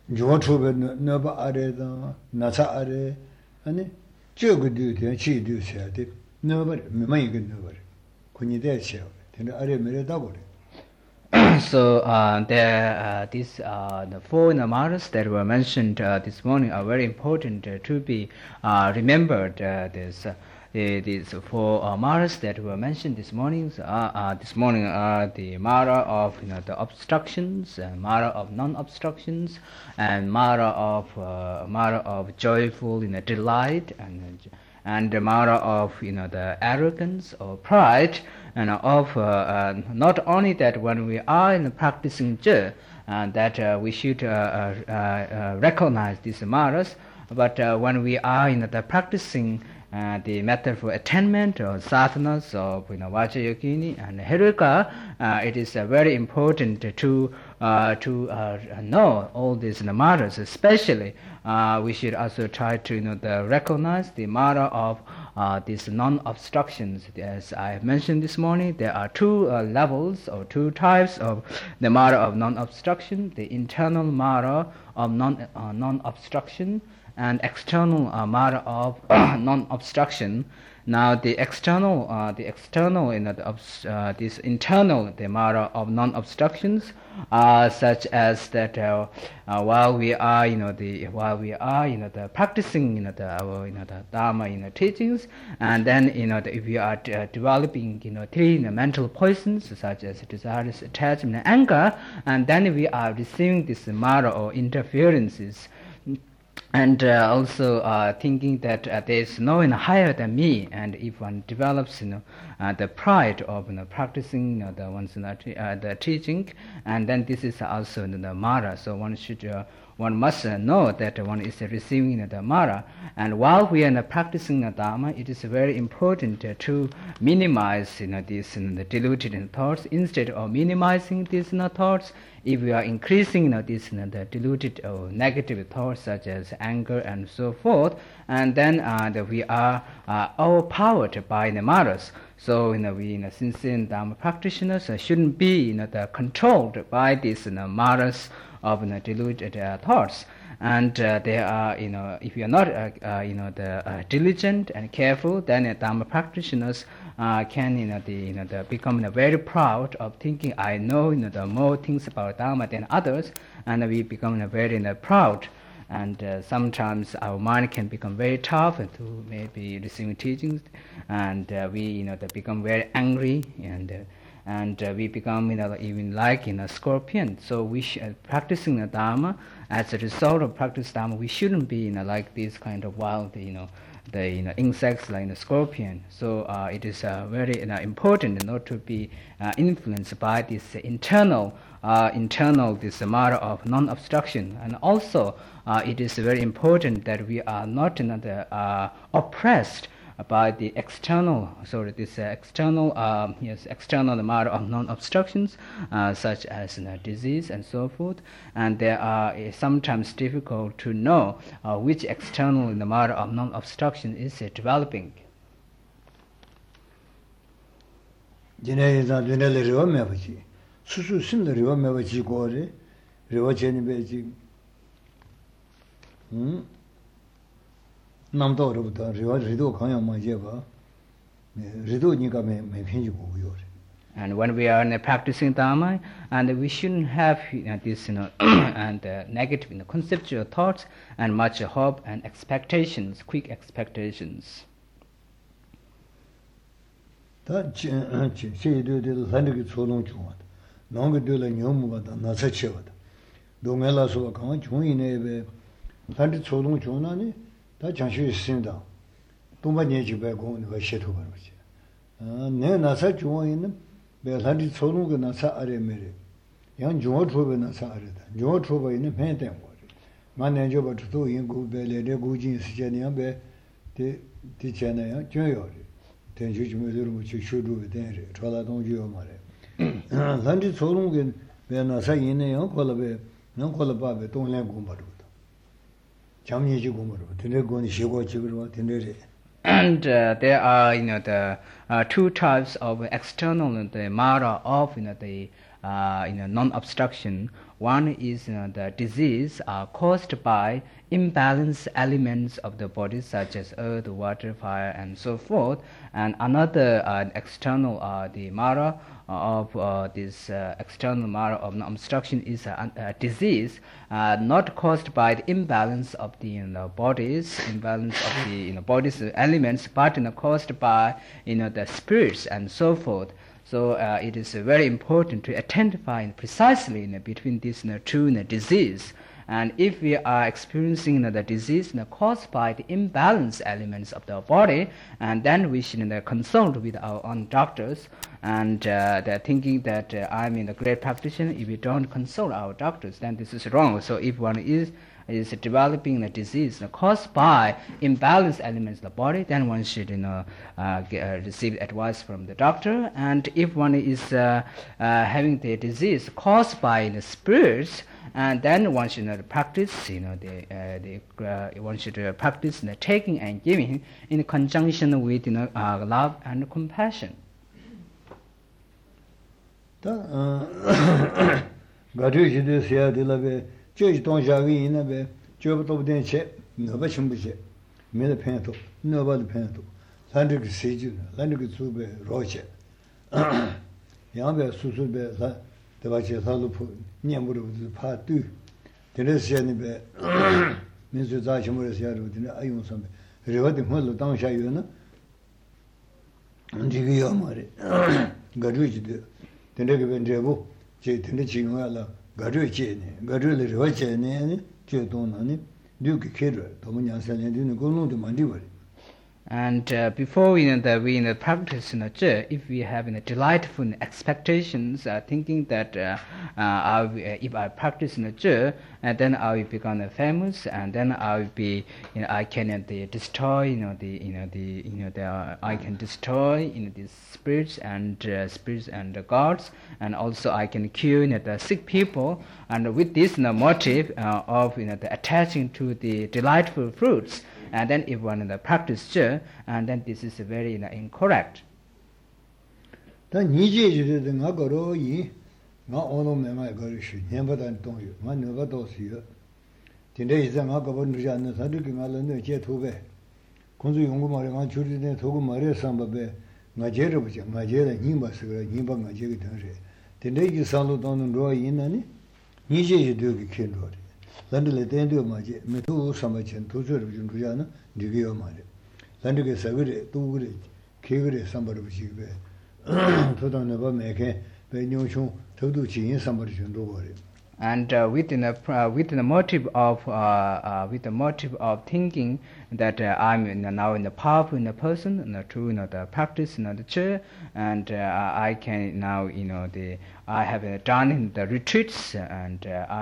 Jotrobe Nova Areda, Nasa Are, and Jogo duty and she do said it. Nobody, my good nobody. When you dare show it, and I made a double. So the four matters that were mentioned this morning are very important to be remembered. These four matters that were mentioned this morning are the matter of the obstructions, matter of non-obstructions, and matter of joyful delight, and the matter of the arrogance or pride, and of not only that when we are in practicing that we should recognize these matters, but when we are in the practicing the method for attainment or sadhanas of Vajrayogini and Heruka, it is very important to know all these matters. Especially, we should also try to recognize the matter of these non-obstructions. As I have mentioned this morning, there are two levels or two types of the matter of non-obstruction: the internal matter of non-obstruction and external matter of non-obstruction. Now the external, this internal, the matter of non-obstructions, such as that while we are, the practicing, the Dharma, teachings, and then, if we are developing, three mental poisons such as desires, attachment, and anger, and then we are receiving this matter or interferences. And also thinking that there is no one higher than me, and if one develops, the pride of practicing the one's the teaching, and then this is also the mara. So one must know that one is receiving the mara. And while we are practicing the Dharma, it is very important to minimize these the deluded thoughts. Instead of minimizing these thoughts, if we are increasing these the deluded or negative thoughts such as anger and so forth, and then we are overpowered by the maras. So we sincere Dharma practitioners shouldn't be controlled by these maras of deluded thoughts. And they are, if you are not diligent and careful, then Dharma practitioners can become very proud of thinking, I know the more things about Dharma than others, and we become very proud. And sometimes our mind can become very tough to maybe receiving teachings, and we become very angry, and we become even like scorpion. So we practicing the Dharma. As a result of practice Dharma, we shouldn't be like these kind of wild the insects like the scorpion. So it is very important not to be influenced by this internal this matter of non-obstruction. And also it is very important that we are not oppressed by the external, this external matter of non-obstructions, such as disease and so forth. And there are sometimes difficult to know which external matter of non-obstruction is developing. And when we are practicing Dharma, and we shouldn't have this and negative conceptual thoughts and much hope and expectations, quick expectations. 다 장시 있습니다. 동반예지 배고 내가 셰토 버지. 내 나사 중앙에는 배산지 초롱가 나사 아래 메레. 양 중앙 초배 나사 아래다. 중앙 초배에는 팬된 거지. 만내 저부터 인구 배레 고진 시제냐 배 디잖아요. 줘요. 대주 좀 들으면 쇼도 되래. 저라 동주요 말해. 산지 초롱가 배 나사 있네요. 콜베 넌 콜바베 동래 공부도. And there are the two types of external the matter of the non-obstruction. One is the disease caused by imbalanced elements of the body, such as earth, water, fire, and so forth. And another external, the mara of this external mara of non-obstruction is a disease not caused by the imbalance of the bodies, imbalance of the body's elements, but caused by the spirits and so forth. So it is very important to identify precisely between these two diseases. And if we are experiencing the disease caused by the imbalanced elements of the body, and then we should consult with our own doctors. And they're thinking that I'm a great practitioner. If we don't consult our doctors, then this is wrong. So if one is developing a disease caused by imbalanced elements of the body, then one should receive advice from the doctor. And if one is having the disease caused by the spirits, and then one should practice one should practice taking and giving in conjunction with love and compassion. Judge don't have in a way, job of the check, no bashing budget, made a panto, nobody panto, Landrick Siege, Landrick Sube, Roche, Yamba Susube, the Vache Salupu, Niamuru, part two. The rest Janibe, Mr. Zachamurus Yard, the Ayun Sumbe, rewarding Holo down Shayuna, and Jigio Mari, Garuji, the Negavan Jebu, J. Teniching. And before we practice if we have delightful expectations, thinking that if I practice and then I will become famous, and then I will be, I can destroy, I can destroy the spirits and gods, and also I can cure the sick people, and with this motive of the attaching to the delightful fruits. And then if one practice and then this is very incorrect. Then you not all of them I got issue, never done to you, one never does you. Today is an Agabon Jan, Sadiq Alan, Jetube. Consu Yungumari, children, Togumare, Sambabe, Majera, Majera, Nimbas, Nimba, Majeri. Today you sound on and draw in any? Nije you do the kindred. Landle tendo maje, metu samachin, tutor of Junjana, Divio Mare. Landle Savire, two Kigre, somebody of Chibe. Total never make a Benyoshu, Toduchi, and somebody should do worry. And with the motive of thinking that I'm now in the powerful person, through the practice the chair, and I can now I have done in the retreats, and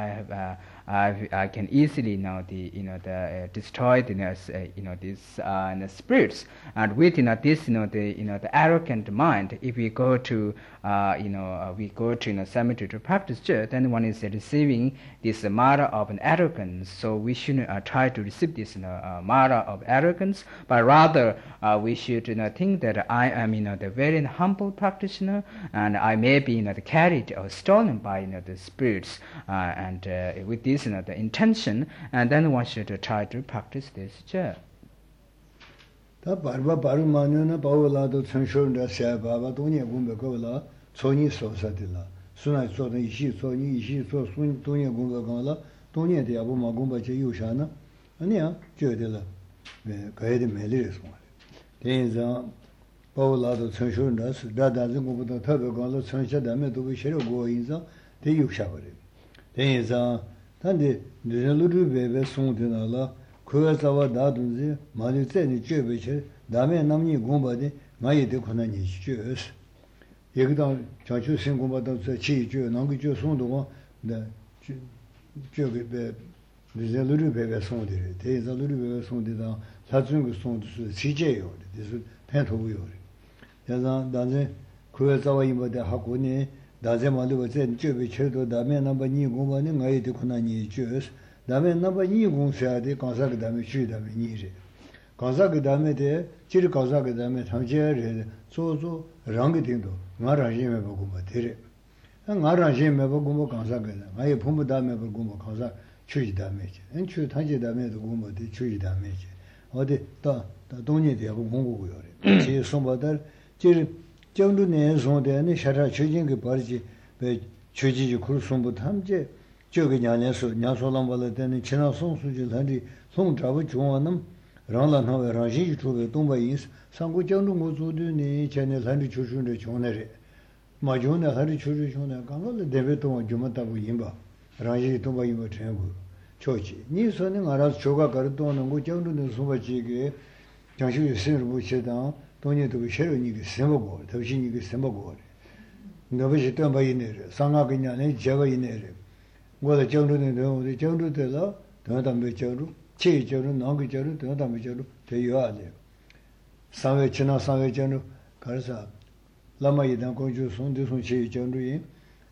I can easily now destroy these spirits, and with this the arrogant mind. If we go to cemetery to practice, then one is receiving this mara of an arrogance. So we shouldn't try to receive this mara of arrogance, but rather we should think that I am the very humble practitioner, and I may be carried or stolen by the spirits, and with this the intention, and then one should try to practice this chair. The Barba Barumana Bawala, the Sanshon, the Sababa, Tonia Gumbagola, Sony Sosatilla. Soon I saw the Ishi, Sony, Ishi, so soon Tonia Gumbagola, Tonia de Abuma Gumba Yushana, and yeah, Jodilla, Gaidi Melis one. There is a Bawala, the Sanshon, that doesn't go with the Tabagola, Sansha, the Metal, we shall go in the Yushabari. There is a Tandi, the little baby soon to Allah, Kuasawa Dadunzi, Malizeni Cheviche, Dame Namni Gumbadi, Maya de Konani Cheers. Yegdan, Chachu Singumba, the Chi, Nangu Sundu, the little baby soon. There is a little baby soon down, Satsungu soon to CJ, this is Pentovi. Yazan, Danze, Kuasawa Imba de Hakuni. Dazemali was in Cheviche, Dame number Niguma, Maya de Konani Cheers. Dame number Nigun said the Kazak Dame should have been easy. Kazak Dame there, Chiri Kazak Dame, Tamjer, so Rangitindo, Marajima Boguma. ngaraje me ba gumbo kansa ga na ye phum da me ba gumbo kansa chuji da me che en chu ta je da me do gumbo de chuji da me che ode ta 동네 대하고 공부고 요래 제 손바들 제 정도 내 손대는 샤라 추진 그 버지 배 추지지 kursun부 탐제 저기 냐냐서 냐소랑발에 되는 지나 송수지 한디 송잡을 중원은 랑랑하게 라지 주베 동바인스 상고 정도 모두니 전에 한디 주준의 존내래 마존에 한디 주주 존내 강을 대베동 주마다고 임바 라지 동바인고 전부 초지 니 손은 알아서 조가 가르도는 거 정도는 소바지게 장식이 생을 못해다 돈이도 새로니게 생보고 더신이게 생보고 너버지 덤바이네 상하겠냐네 제가 이네래 뭐가 정도는 너무 정도들라 더담배 정도 체적으로 나기적으로 더담배 정도 되어야 돼 상회 지나 상회 정도 가서 라마이단 공주 손대 손치 정도에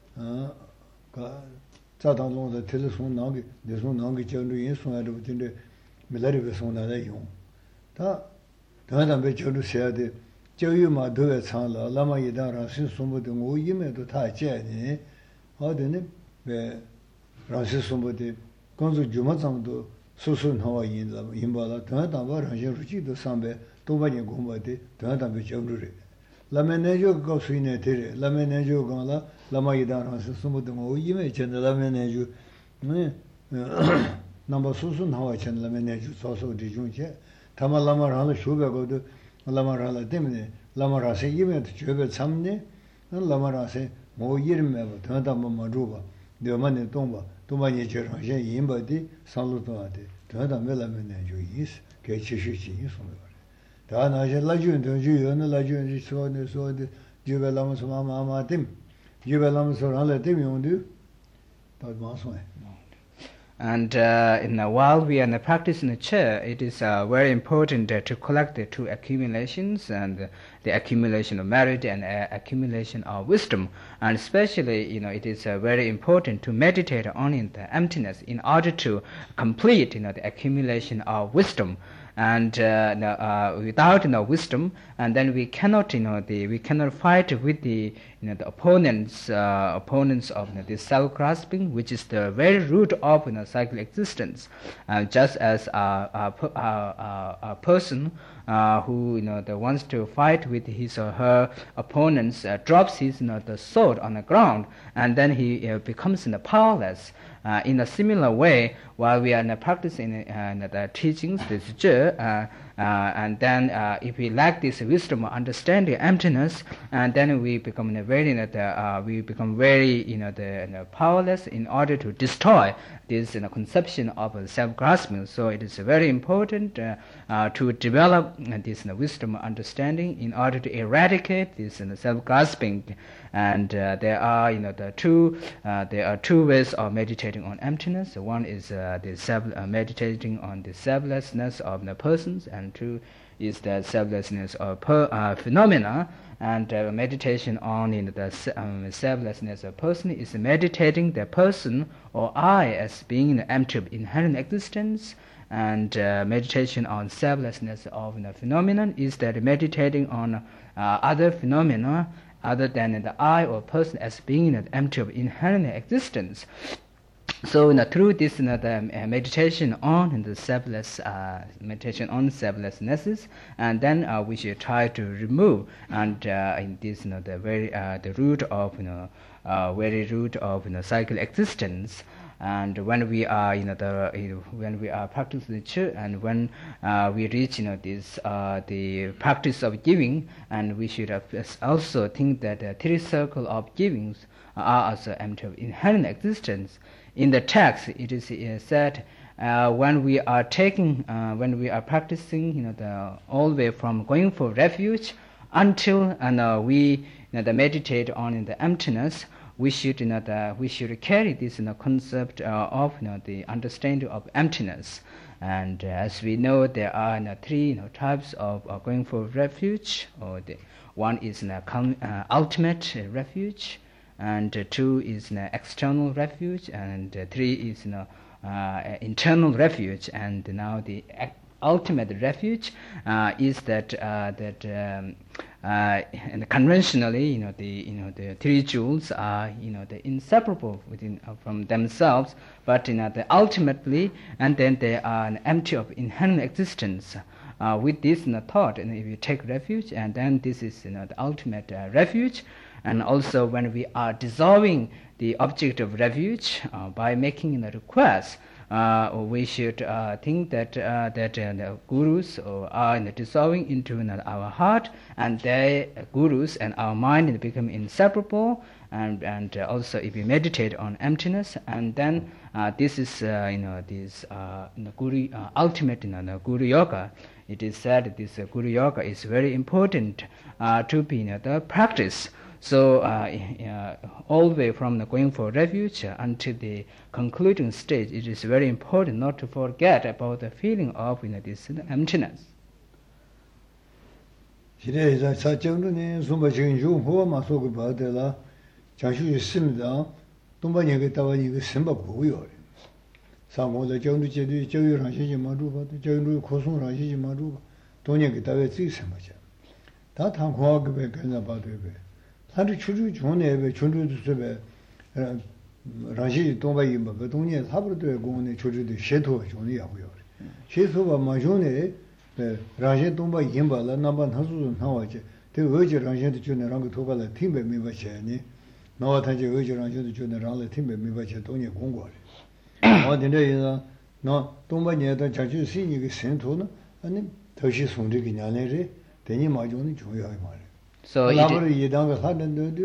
가 자당론의 텔레폰 나기 내손 나기 정도에 손하고 근데 밀라리베 손나다 용다 더담배 정도 해야 돼 저유마 더에 창라 라마이단 신송부도 오이메도 다 제니 어디는 왜 라시 송부도 건조 주마장도 수순하와 인바라 더담바 라시 루치도 삼배 도바니 공부데 더담배 정도래 라메네조 고스이네 데레 라메네조 가라 라마이단 신송부도 오이메 전에 라메네조 네 넘버 수순하와 전 라메네조 소소 디중체 타말라마라는 쇼베고도 라마라라 때문에 라마라세 이메도 저게 참네 라마라세 뭐 이름에 더담바 마루바 너만의 동바 동반이 저런 제 인바디 살로도한테 더담벨라면에 주이스 개치시지 소리 다 나제 라준도 주요는 라준이 소네 주벨라면서 마마마팀 주벨라면서 할래팀이 온디 다 마소에. And while we are in the practice in the chair, it is very important to collect the two accumulations, and the accumulation of merit and accumulation of wisdom. And especially, it is very important to meditate on the emptiness in order to complete, the accumulation of wisdom. And without wisdom, and then we cannot we cannot fight with the the opponents of the self-grasping, which is the very root of cycle existence. Just as a person who wants to fight with his or her opponents drops his the sword on the ground, and then he becomes powerless. In a similar way, while we are practicing the teachings, this and then if we lack this wisdom, understanding emptiness, and then we become very powerless in order to destroy this conception of self-grasping. So it is very important to develop this wisdom understanding in order to eradicate this self-grasping. And there are two ways of meditating on emptiness. One is meditating on the selflessness of the persons, and two is the selflessness of phenomena. And meditation on the selflessness of person is meditating the person or I as being empty of inherent existence. And meditation on selflessness of the phenomenon is that meditating on other phenomena other than the I or person as being empty of inherent existence. So through this meditation on the selflessnesses, and then we should try to remove and in this the root of very root of cycle existence. And when we are when we are practicing the church, and when we reach this the practice of giving, and we should also think that the three circles of givings are also empty of inherent existence. In the text, it is said when we are practicing all the way from going for refuge until we meditate on the emptiness, we should carry this concept of the understanding of emptiness. And as we know, there are three types of going for refuge. Or one is ultimate refuge, and two is external refuge, and three is internal refuge. And now the ultimate refuge is that and conventionally, the three jewels are, the inseparable within from themselves, but ultimately, and then they are empty of inherent existence. With this thought, and if you take refuge, and then this is the ultimate refuge. And also, when we are dissolving the object of refuge by making the request, we should think that the gurus are dissolving into our heart, and the gurus and our mind become inseparable. And also, if we meditate on emptiness, and then this is this guru ultimate the guru yoga. It is said this guru yoga is very important to be the practice. So all the way from going for refuge until the concluding stage, it is very important not to forget about the feeling of this emptiness. 한두 추주 존에 존주도 섭에 라시 동바이 뭐 동네 사브르도 공원에 조주도 셰도 존이 하고요. 셰소가 마존에 라시 동바이 임발라 남반 하수도 나와지. 대 어제 라시도 존에랑 그 도발에 팀배 미바체니. 나와 다지 어제 라시도 존에랑 팀배 미바체 동네 공고래. 어딘데요? 너 동바니에다 자주 쓰이니 그 센토는 아니 더시 송득이 냐네리 대니 마존이 중요하게 말해. So